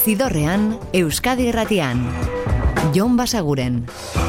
Zidorrean, Euskadi Irratian. Jon Basaguren.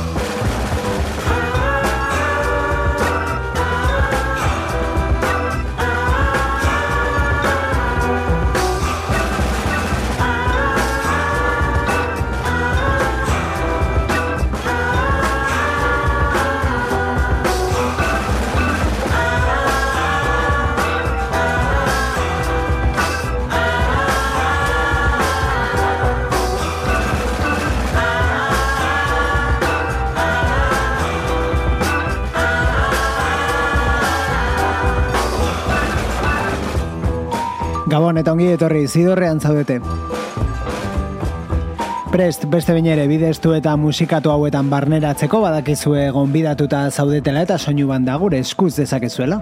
Gabon eta ongi etorri, Zidorrean zaudete. Prest, beste binere, bideztu eta musikatu hauetan barneratzeko badakizue gonbidatuta zaudetela eta soinu banda gure eskuz dezakezuela.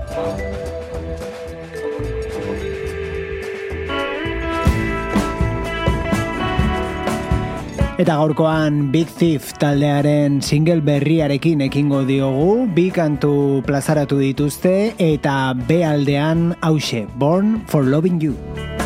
Eta gaurkoan Big Thief taldearen single berriarekin ekingo diogu, bi kantu plazaratu dituzte eta B aldean hauxe, Born for Loving You.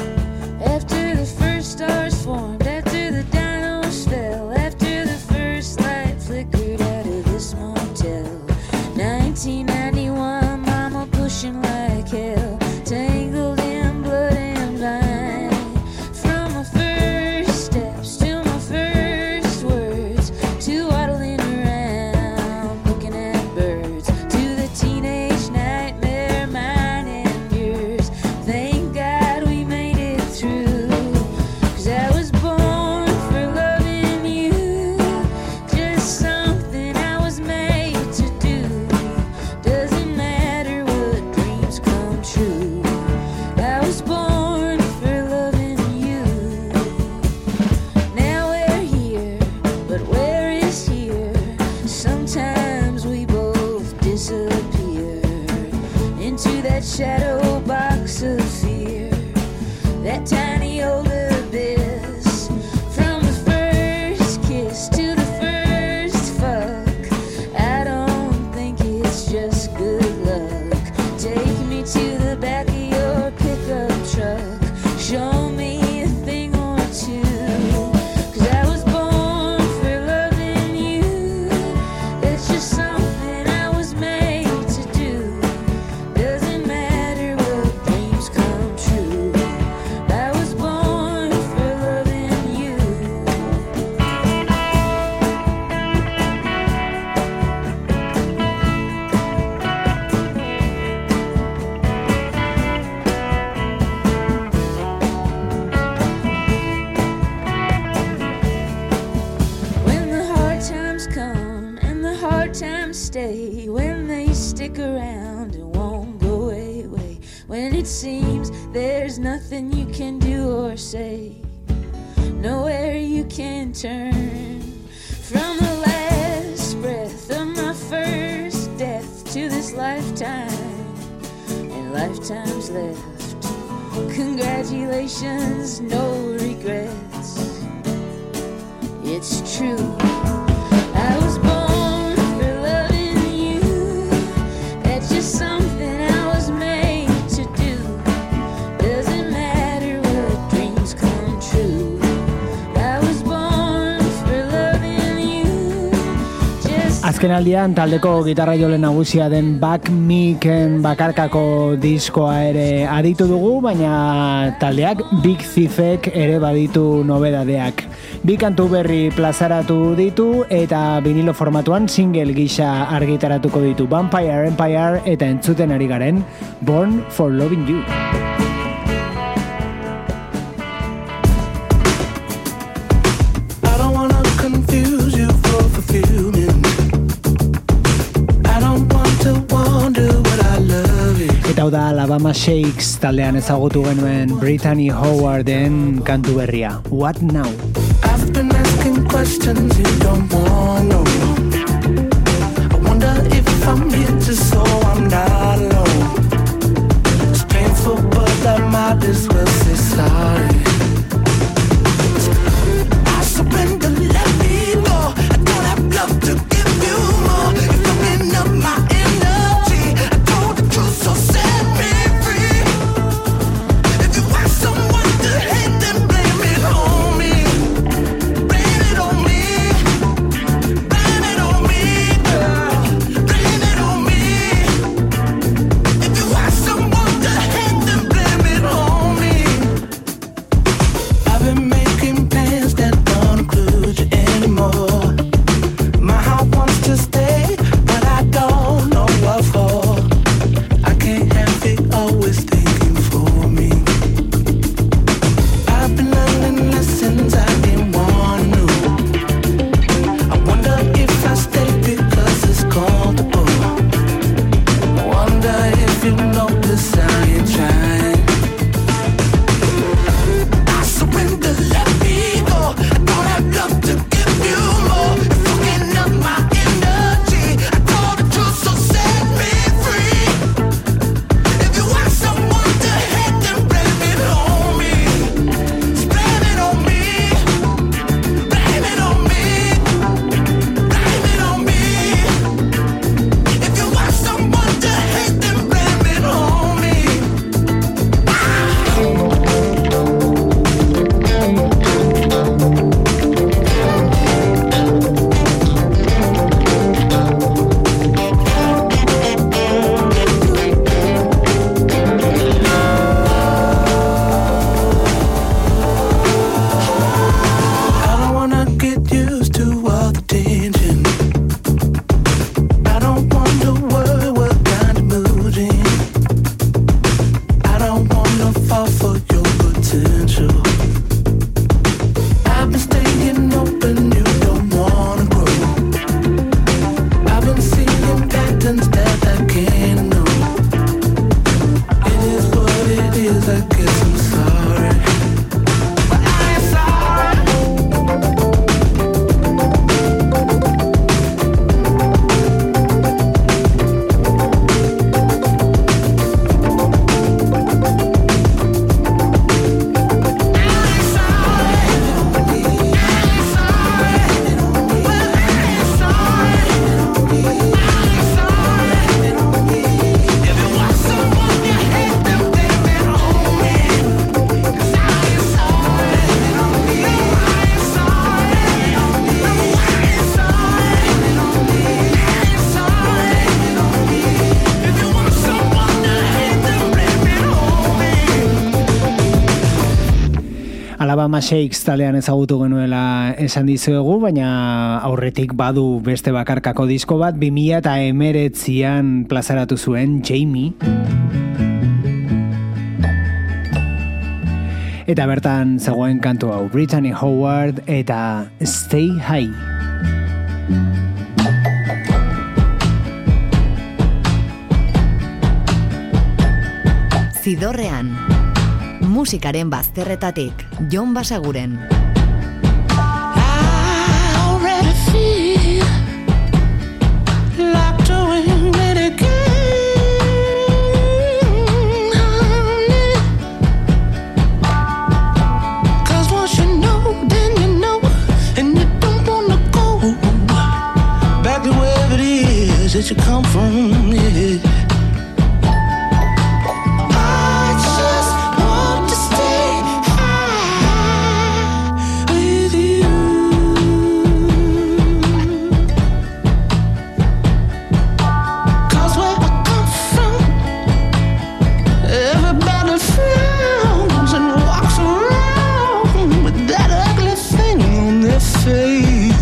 Congratulations, no regrets. It's true. I was born for loving you. That's just something I was made to do. Doesn't matter what dreams come true. I was born for loving you. Azkenaldian taldeko gitarra jole nagusia den Back Miken bakarkako diskoa ere aditu dugu, baina taldeak Big Thiefek ere baditu nobedadeak. Bi kantu berri plazaratu ditu eta vinilo formatuan single gisa argitaratuko ditu Vampire Empire eta entzuten ari garen Born for Loving You. I don't wanna confuse you for fulfillment. I don't want to wonder what I love you. Eta hau da Alabama Shakes taldean ezagutu genuen Brittany Howarden kantu berria. What Now? I've been asking questions you don't want to know. I wonder if I'm here just so I'm not alone. It's painful but I might as well say sorry. I surrender, let me go. I don't have love to give you more. You're filling up my energy. I told the truth, so set me free. If you want someone to hate, then blame it on me. Alabama Shakes taldean ezagutu genuela esan dizuegu, baina aurretik badu beste bakarkako disko bat 2019an plazaratu zuen Jamie. Eta bertan zegoen kantu hau Brittany Howard eta Stay High. Zidorrean, musikaren bazterretatik, Jon Basaguren. That you come from, yeah. I just want to stay high with you. 'Cause where I come from, everybody frowns and walks around with that ugly thing on their face.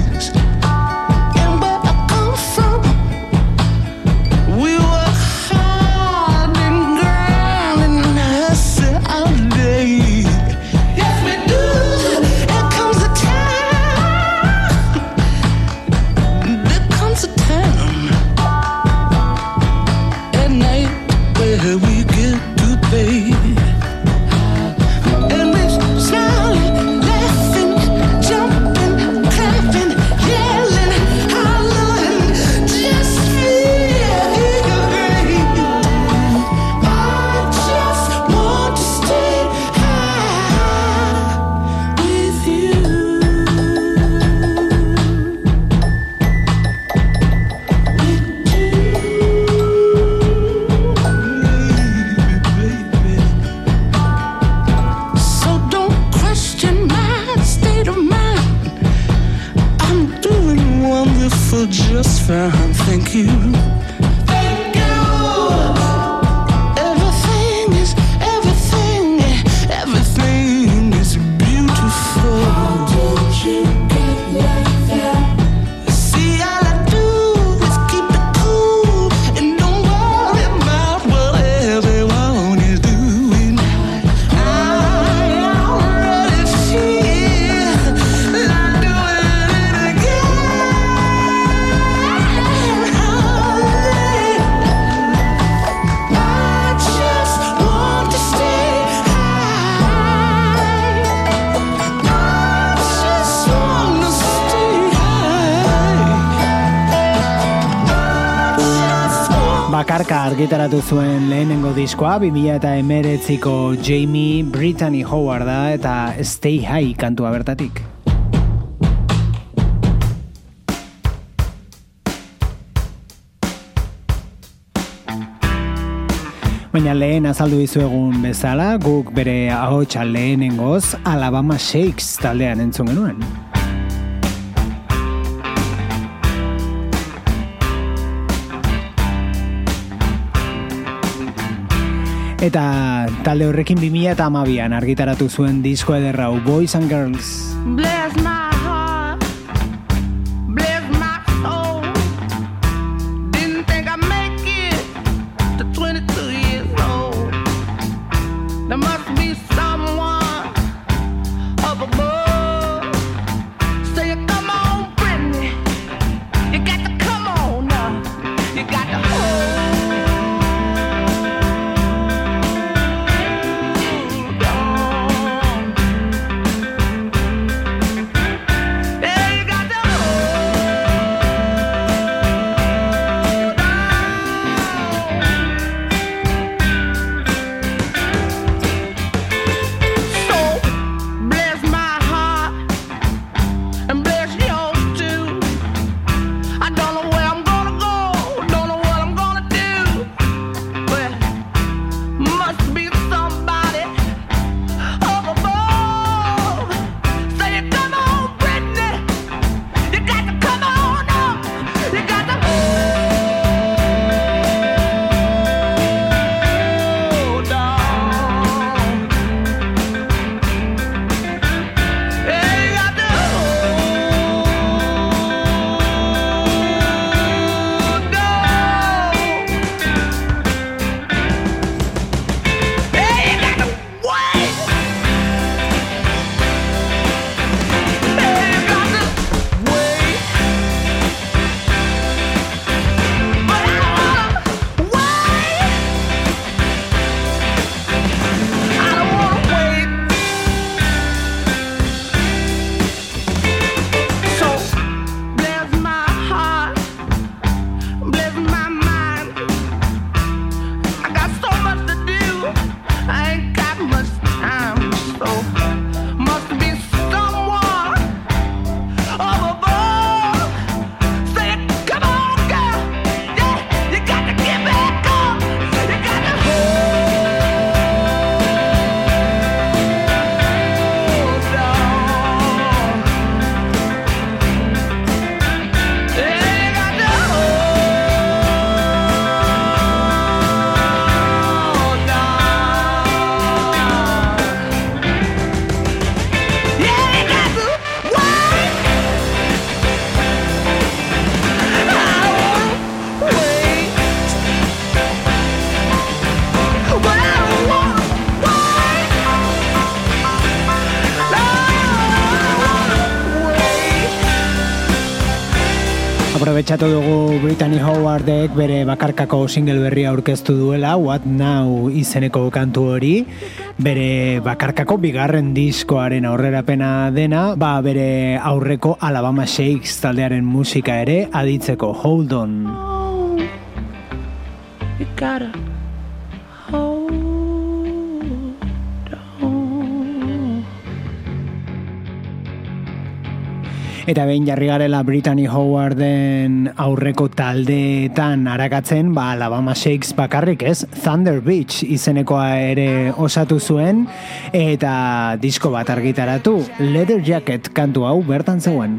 Just fine, thank you. Thank you. Everything is beautiful. How did you get like that? See, all I do is keep it cool and don't worry about what everyone is doing. I already feel like doing it again. Bakarka argitaratu zuen lehenengo diskoa 2019ko Jamie Brittany Howard da eta Stay High kantua bertatik. Baina lehen azaldu dizuegun bezala, guk bere ahotsa lehenengoz Alabama Shakes taldean entzun genuen. Eta talde horrekin 2012an argitaratu zuen disko ederra Boys and Girls. Bless my heart, bless my soul. Didn't think I'd make it to 22 years old. There must be someone up above. Say, come on, Brittany, you got to come on now. You got to hold. Aprobetxatu dugu Brittany Howardek bere bakarkako single berria aurkeztu duela, What Now izeneko kantu hori, bere bakarkako bigarren diskoaren aurrerapena dena, bere aurreko Alabama Shakes taldearen musika ere aditzeko. Hold on. You gotta hold on. Eta behin jarri garela Brittany Howarden aurreko taldeetan arakatzen, Alabama Shakes bakarrik ez, Thunder Beach izenekoa ere osatu zuen, eta disko bat argitaratu, Leather Jacket kantu hau bertan zegoen.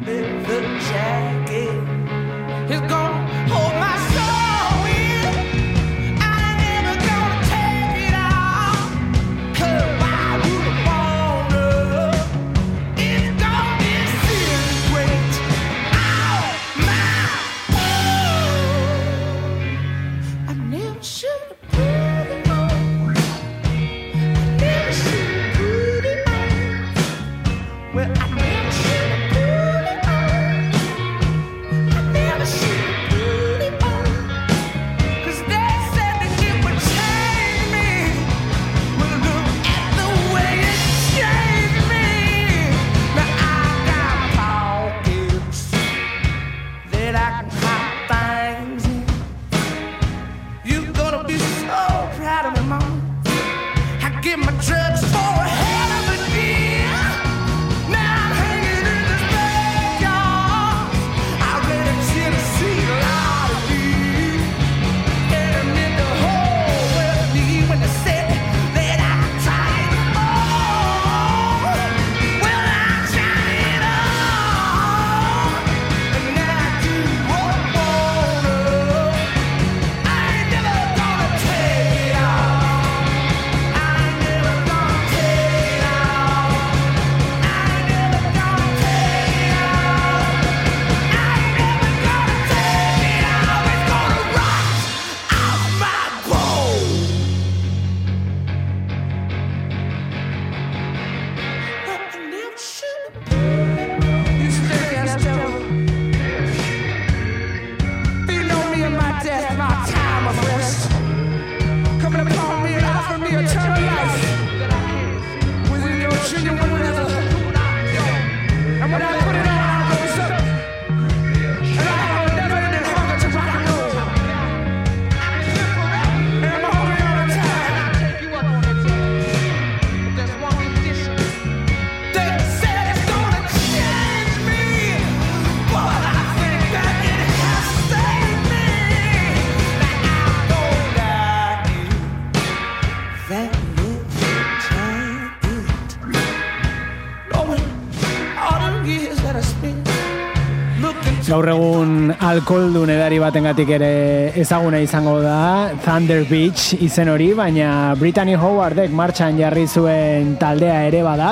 Gaur egun alkoholdun edari batengatik ere ezaguna izango da Thunder Beach izen hori, baina Brittany Howardek martxan jarri zuen taldea ere bada,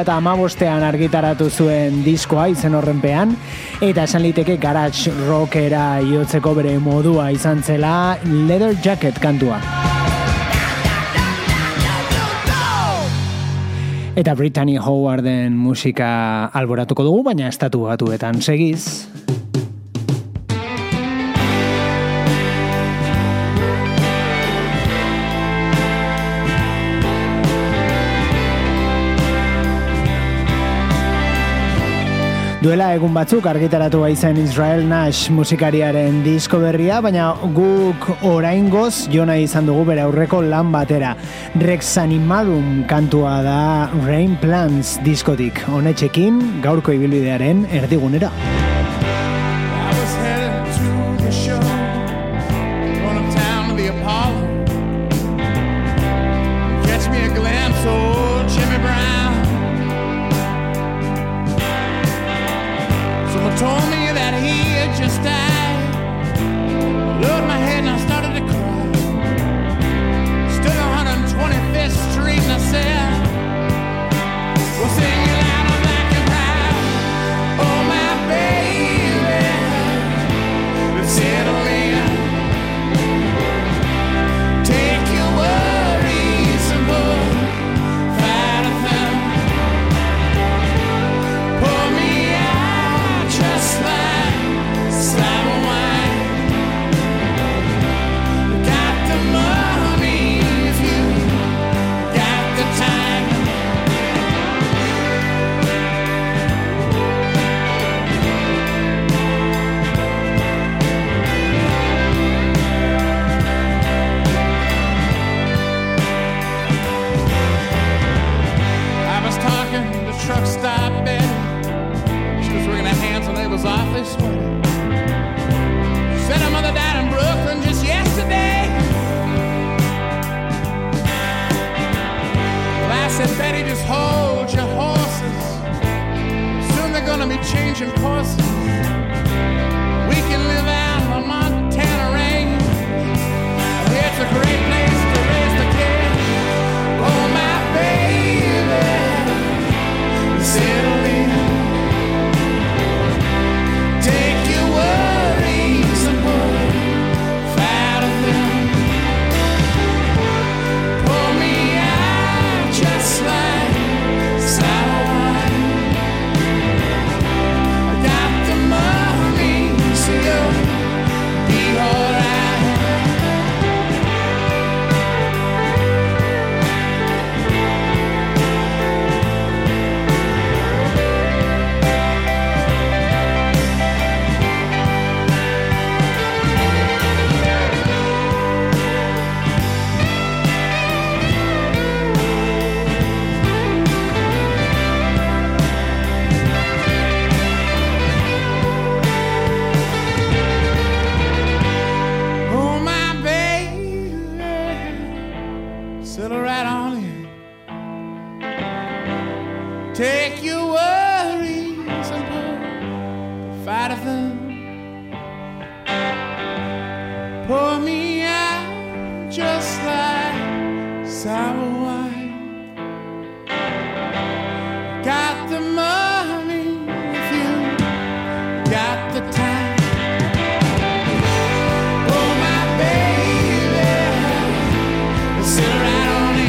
2015an argitaratu zuen diskoa izen horrenpean, eta esan liteke garage rockera jotzeko bere modua izan zela Leather Jacket kantua. Eta Brittany Howarden musika alboratuko dugu, baina estatu batuetan segiz. Duela egun batzuk argitaratu baizen Israel Nash musikariaren disko berria, baina guk oraingoz jona izan dugu bere aurreko lan batera. Rex Animarum kantua da Rain Plants diskotik. Honetxekin gaurko ibilbidearen erdigunera. Told me that he had just died. Lowered my head and I started to cry. Stood on 125th Street and I said, we'll sing it out of black and proud. Oh my baby, let's settle in. Take your worries and put fight of them. Pull me out just like slime. was wringing her hands and they was awfully sweaty. Said her mother died in Brooklyn just yesterday. Well, I said, Betty, just hold your horses. Soon they're gonna be changing courses. We can live out in the Montana rain. It's a great place to raise the kid. Oh, my baby, settle in. Take your worries and put out of them. Pour me out just like sour wine. I got the money, so you'll be alright. Settle right on in. Take your worries and fight of them. Pour me out just like sour wine. Got the money if you got the time. Oh, my baby, settle right.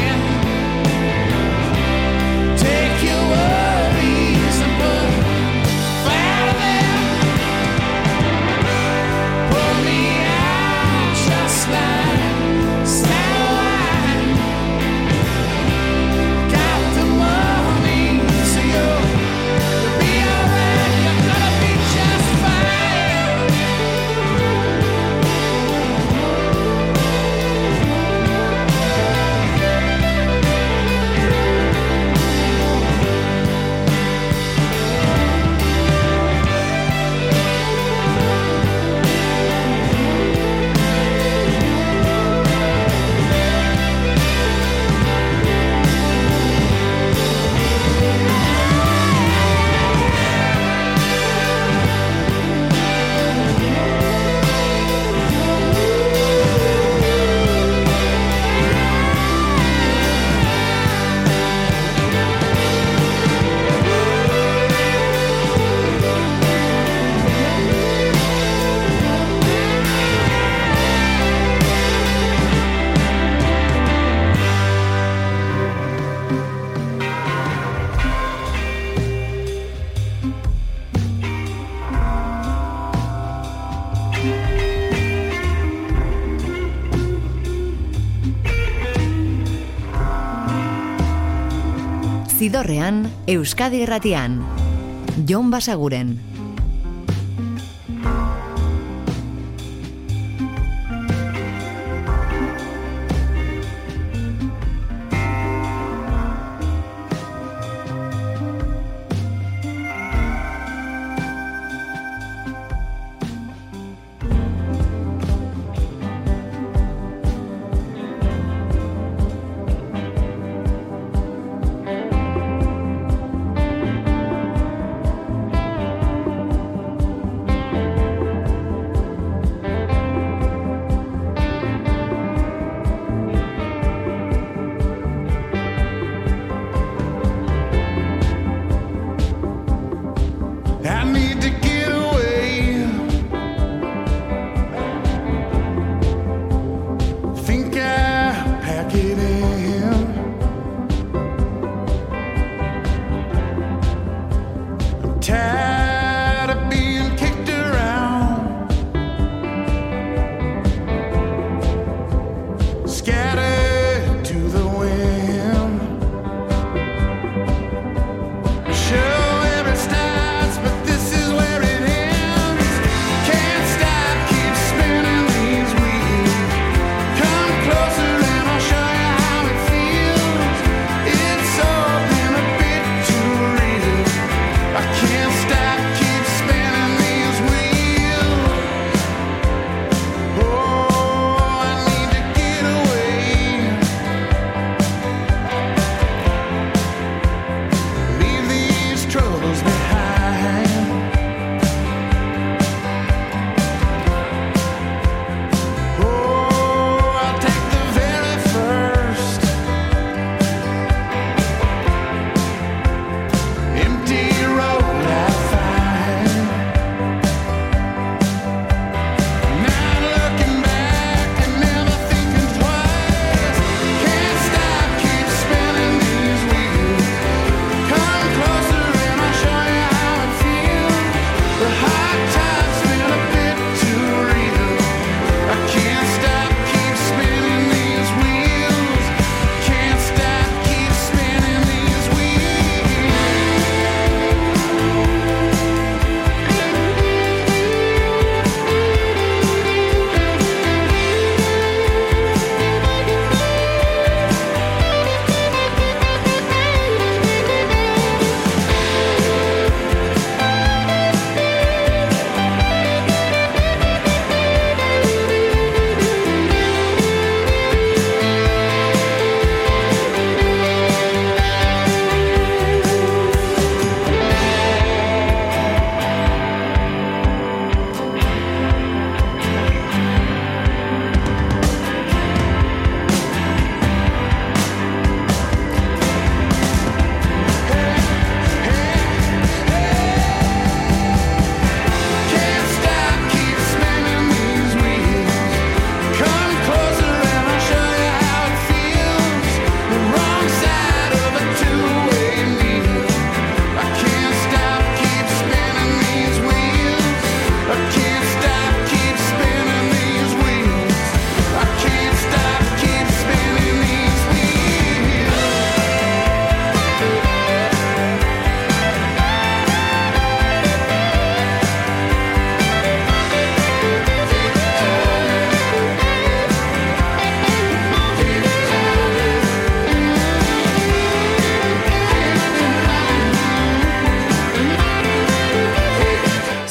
Zidorrean, Euskadi Irratian. Jon Basaguren.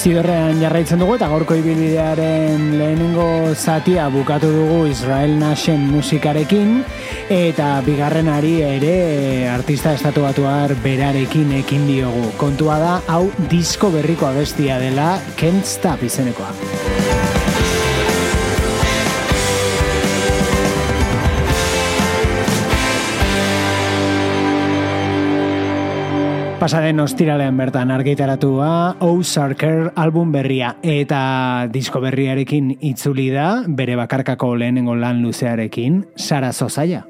Zidorrean jarraitzen dugu eta gaurko ibilbidearen lehenengo zatia bukatu dugu Israel Nashen musikarekin eta bigarrenari ere artista estatubatuar berarekin ekin diogu. Kontua da, hau disko berriko abestia dela, Can't Stop izenekoa. Pasaren ostiralean bertan argitaratua Ozarker album berria eta disko berriarekin itzuli da bere bakarkako lehenengo lan luzearekin Sara Zozaia.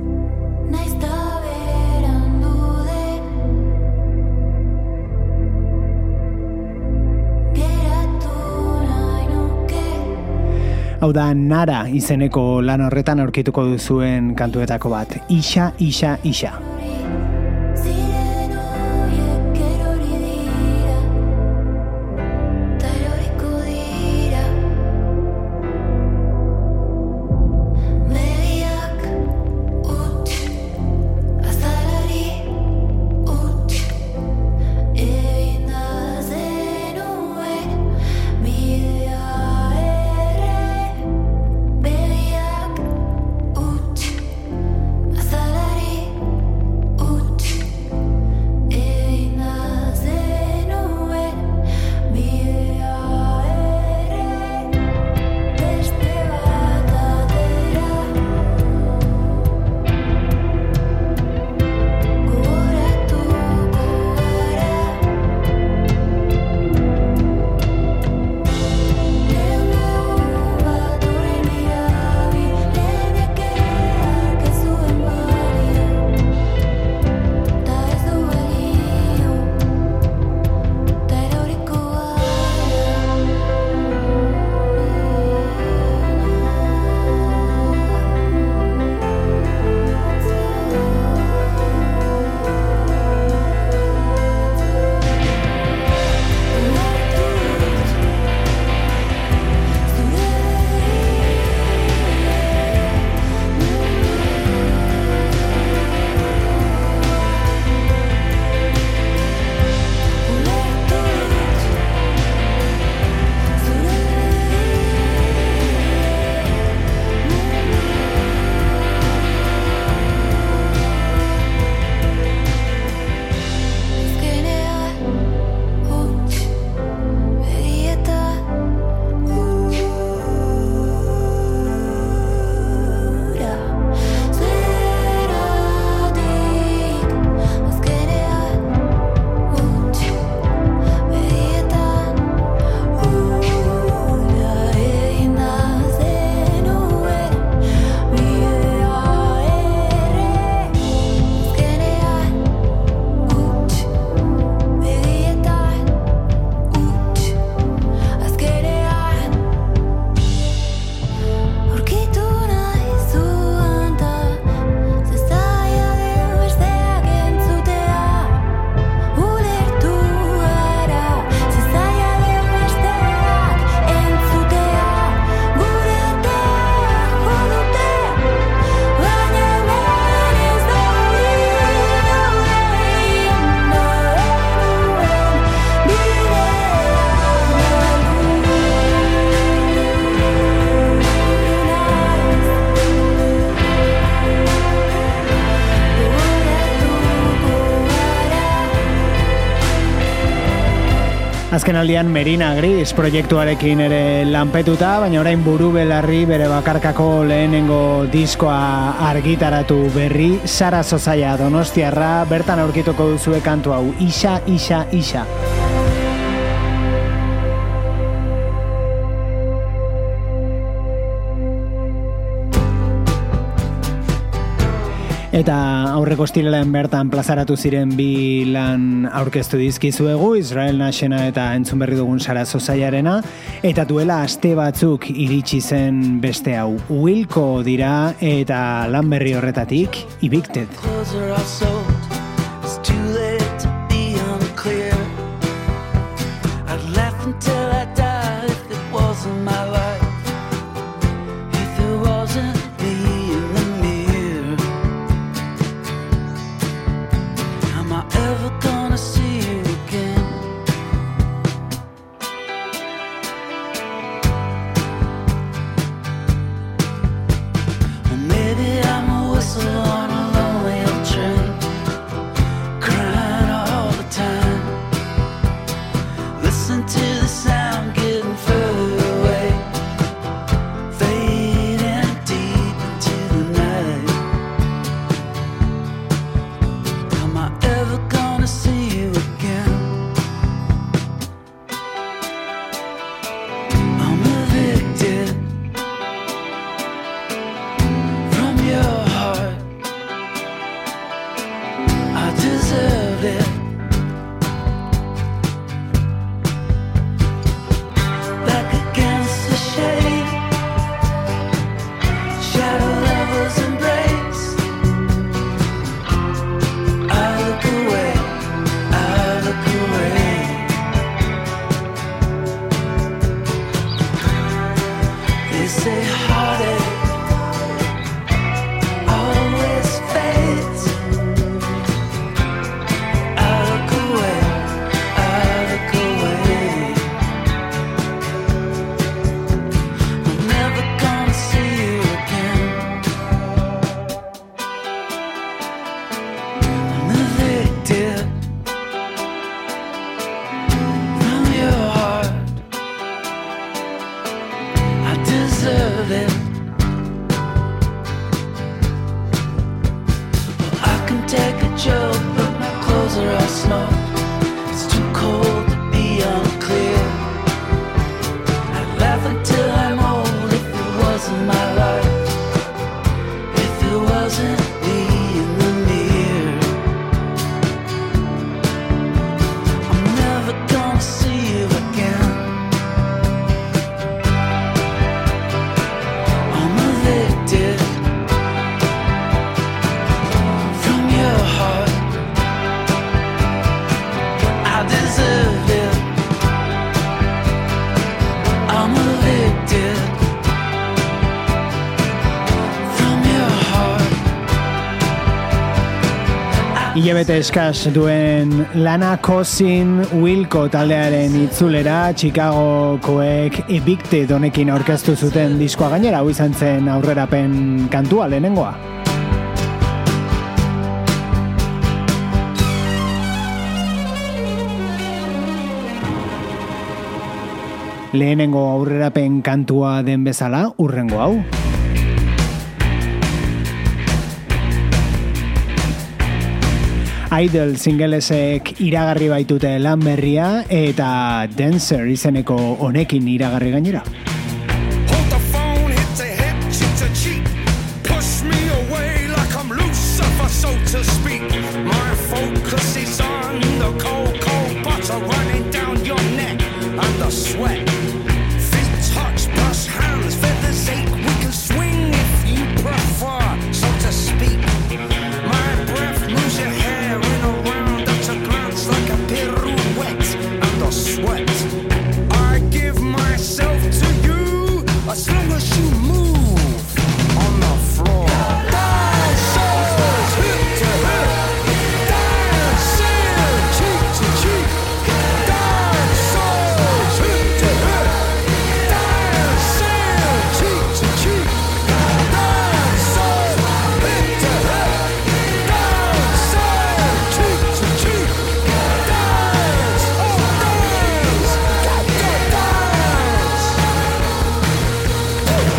Hau da Nara izeneko lan horretan aurkituko duzuen kantuetako bat, Ixa, Ixa, Ixa. Azken aldian Merina Gris proiektuarekin ere lanpetuta, baina orain buru belarri bere bakarkako lehenengo diskoa argitaratu berri, Sara Zozaia Donostiarra, bertan aurkituko duzue kantu hau, Ixa, Ixa, Ixa. Eta aurreko estilelen bertan plazaratu ziren bi lan aurkeztu dizkizuegu, Israel Nashena eta entzun berri dugun Sara Zozaiarena, eta duela aste batzuk iritsi zen beste hau. Wilco dira eta lan berri horretatik, Evicted. Listen to the sound getting further away, fading deep into the night. Am I ever gonna see you again? I'm evicted from your heart. I deserve it. Back against the shade, shadow lovers embrace. I look away, I look away. They say heartache always fades. I look away, I look away. I'm never gonna see you again. I'm evicted from your heart. I deserve it. I can take a joke, but my clothes are all smoked. It's too cold to be unclear. I'd laugh until I'm old if it wasn't my life, if it wasn't me in the mirror. I'm never gonna see you again. I'm evicted from your heart. I deserve it. I'm evicted from your heart. Hilabete eskas duen lana Cousin Wilco taldearen itzulera Chicagokoek Evicted honekin aurkeztu zuten diskoa, gainera hau izan zen aurrerapen kantua lehenengoa. Lehenengo aurrerapen kantua den bezala, hurrengo hau. Idol singlesek iragarri baitute lan berria eta Dancer izeneko honekin iragarri gainera. Hold the phone, hit the hip, cheek to cheek. Push me away like I'm Lucifer, so to speak. My focus is on the cold, cold butter running down your neck and the sweat. Feet touch, brush hands, feathers ache. We can swing if you prefer, so to speak. My breath moves your hair in a round at a glance like a pirouette and the sweat. I give myself to you as long as you move on the floor. Dancers, hip to hip, dancing cheek to cheek. Dancers, hip to hip, dancing cheek to cheek. Dancers, hip to hip, dancing cheek to cheek. Dance, oh dance, got to dance.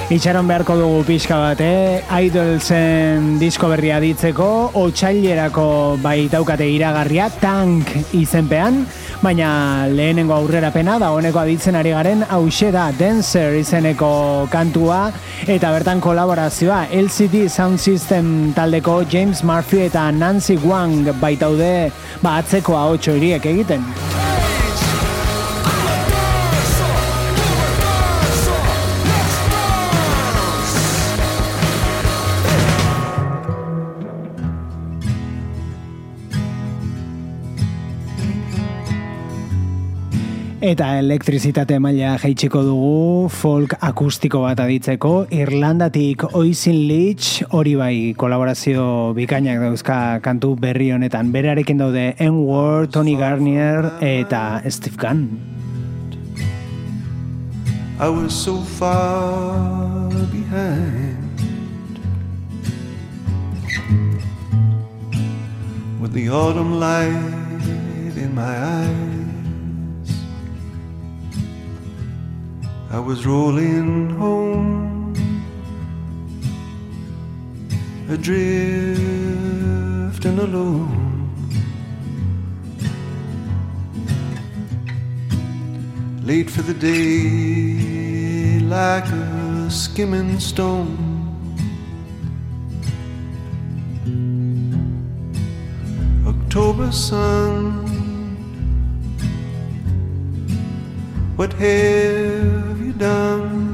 Itxaron beharko dugu pixka bat, Idolsen disko berria ditzeko, otsailerako baitaukate iragarria, Tank izenpean, baina lehenengo aurrerapena dagoeneko aditzen ari garen hauxe da Dancer izeneko kantua, eta bertan kolaborazioa LCD Sound System taldeko James Murphy eta Nancy Wang baitaude atzeko ahots horiek egiten. Eta elektrizitate maila jaitsiko dugu folk akustiko bat aditzeko, Irlandatik Oisin Leach, hori bai kolaborazio bikainak dauzka kantu berri honetan. Berarekin daude N-Word, Tony Garnier eta Steve Gunn. I was so far behind with the autumn light in my eyes. I was rolling home, adrift and alone, late for the day like a skimming stone. October sun, what have you done?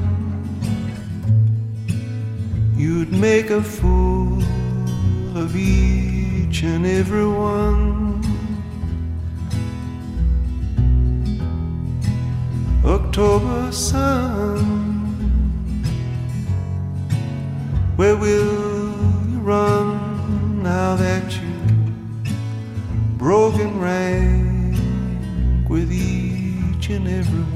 You'd make a fool of each and every one. October sun, where will you run now that you've broken rank with each and every one?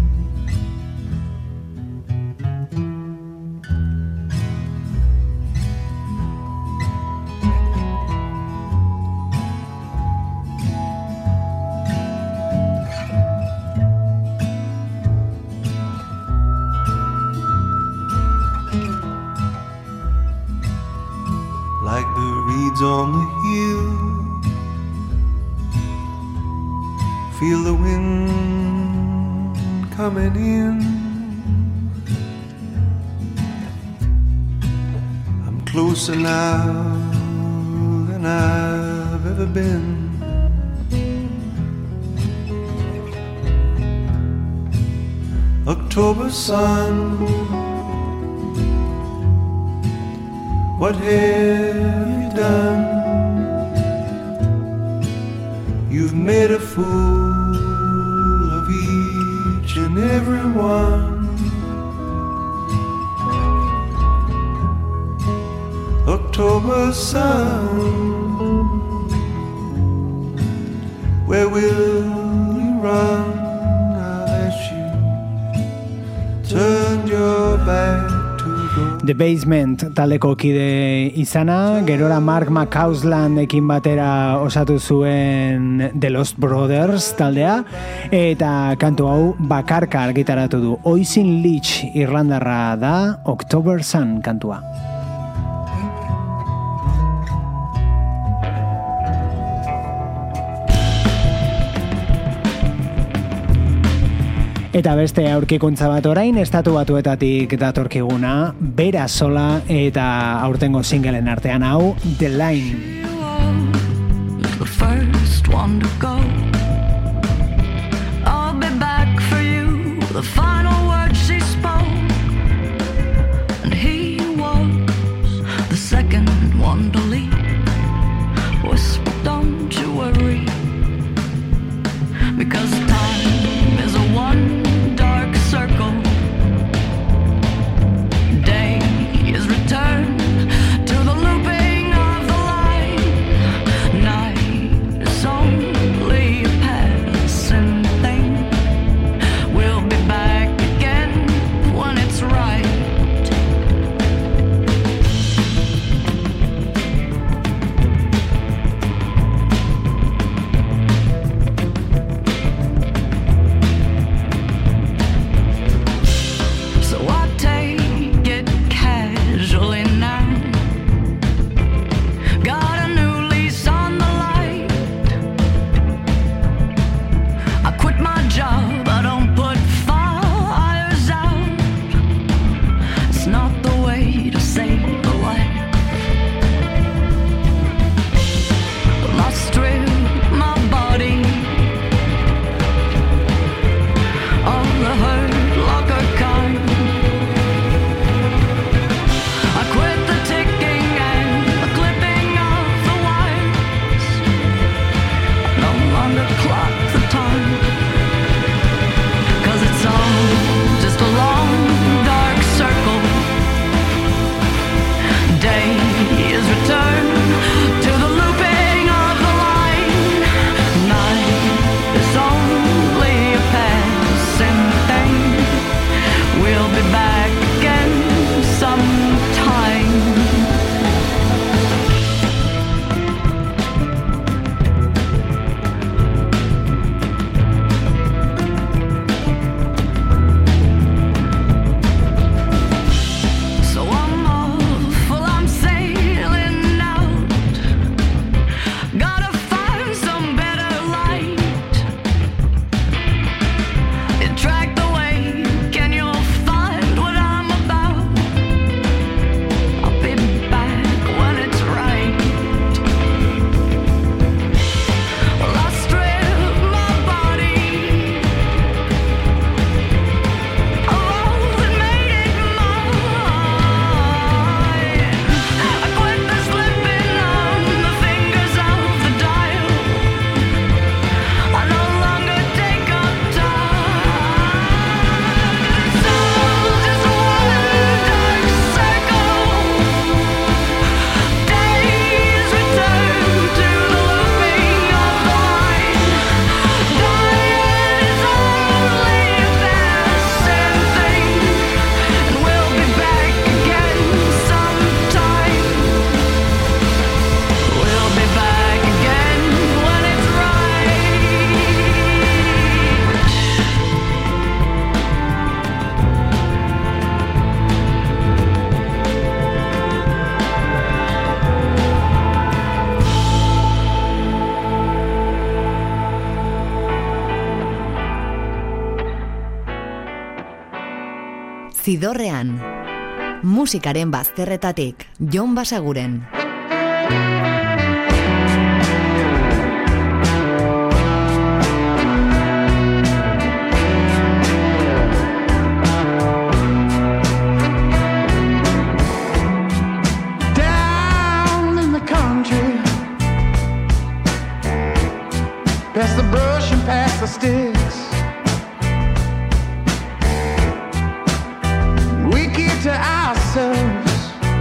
Like the reeds on the hill, feel the wind coming in. I'm closer now than I've ever been. October sun, what have you done? You've made a fool of each and every one. October sun, where will you run now that you turned your back? The Basement taldeko kide izana, gerora Mark McCauslandekin batera osatu zuen The Lost Brothers taldea, eta kantu hau bakarka argitaratu du. Oisin Leach irlandarra da, October Sun kantua. Eta beste aurkikuntza bat orain, Estatu Batuetatik datorkiguna, Bera Sola eta aurtengo singelen artean hau, The Line. The first one to go. I'll be back for you, the final word she spoke. And he was the second one to leave. Whisper, don't you worry, because time is a one dark circle. Day is returned to the looping of the line. Night is only a passing thing. We'll be back again when it's right. Zidorrean. Musikaren bazterretatik, Jon Basaguren. Pass the brush and pass the sticks. We keep to ourselves.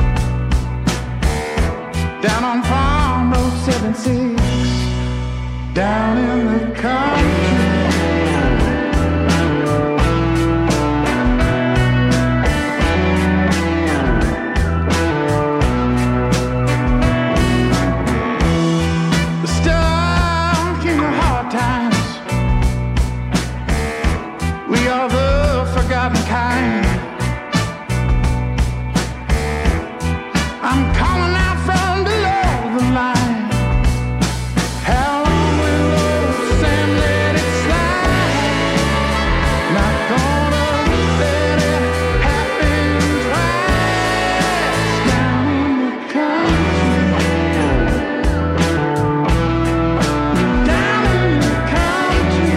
Down on Farm Road 76. Down in the country. Kind. I'm calling out from below the line. How long will old Sam let it slide? Not gonna let it happen twice. Down in the country. Down in the country.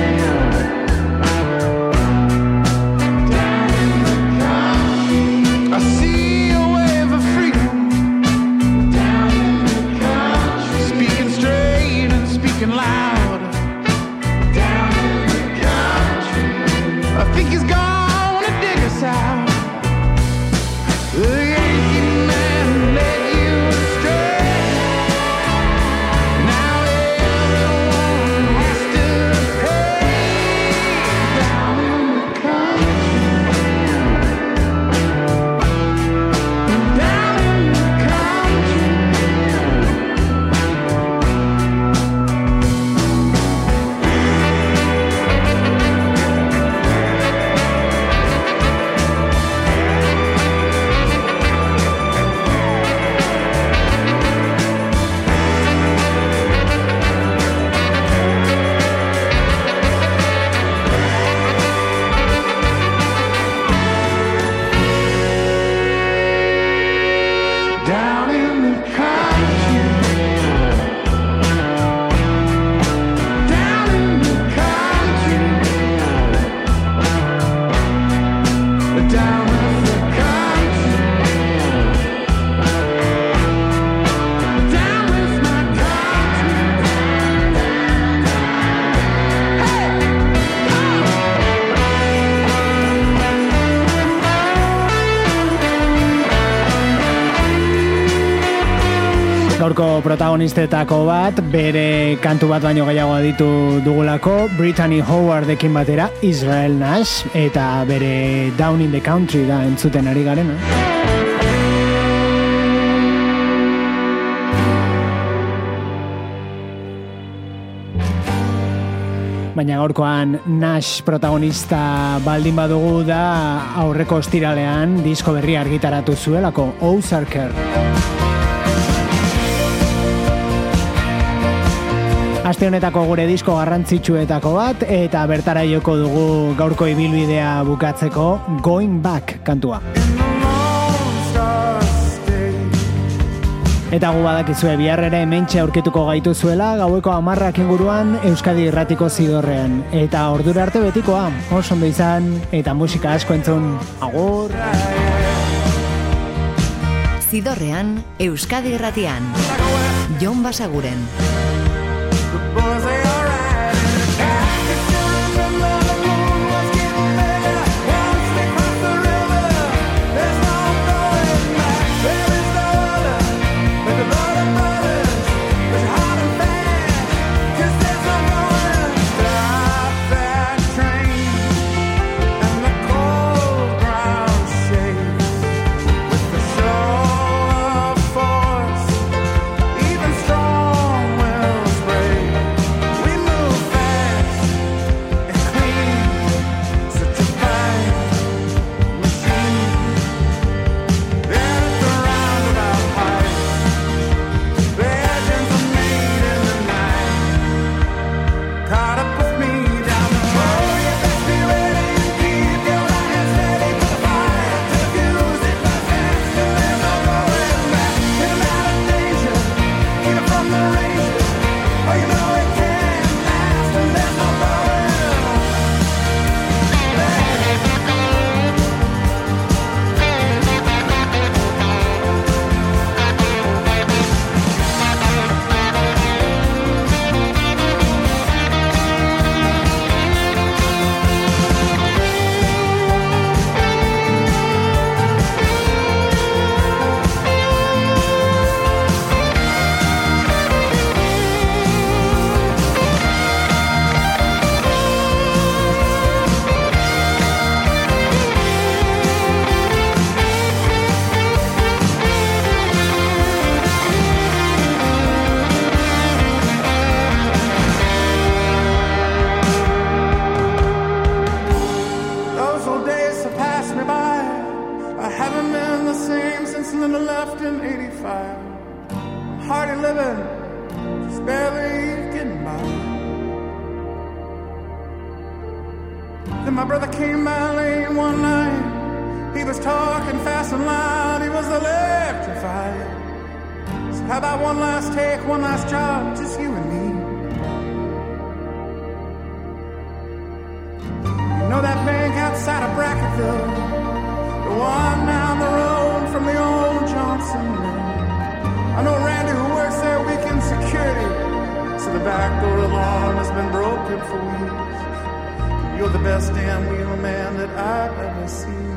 I see a wave of freedom down in the country, speaking straight and speaking loud down in the country. I think he's gonna dig us out. The Yankee man led you astray. Now everyone has to pay down in the country. Down in the country. Down in the country. Down in the country. Down with my country. Gaurko protagonistetako bat, bere kantu bat baino gehiago aditu dugulako, Brittany Howardekin batera, Israel Nash, eta bere Down in the Country da entzuten ari garena. Baina gaurkoan Nash protagonista baldin badugu da aurreko ostiralean disko berria argitaratu zuelako, Ozarker. Aste honetako gure disko garrantzitsuetako bat, eta bertara joko dugu gaurko ibilbidea bukatzeko Going Back kantua. Eta gu badakizue biharrera hementxe aurkituko gaituzuela gaueko 10 inguruan Euskadi Irratiko Zidorrean. Eta ordura arte betikoa, oso ondo izan, eta musika asko entzun. Agur! Zidorrean, Euskadi Irratian. Jon Basaguren. We left in 85. I'm hardly living, just barely getting by. Then my brother came by lane one night. He was talking fast and loud, he was electrified. So how about one last take, one last job, just you and me? You know that bank outside of Brackettville, the one down the road from the old Johnson Mill. I know Randy who works there weekend security, so the back door alarm has been broken for weeks. You're the best damn wheel man that I've ever seen.